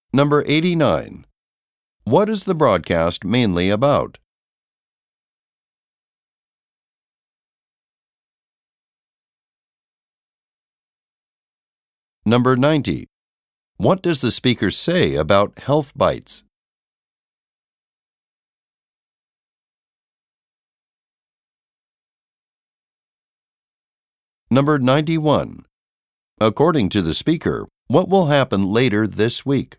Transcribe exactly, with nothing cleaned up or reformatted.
Number eighty-nine. What is the broadcast mainly about? Number ninety. What does the speaker say about health bites? Number ninety-one. According to the speaker, what will happen later this week?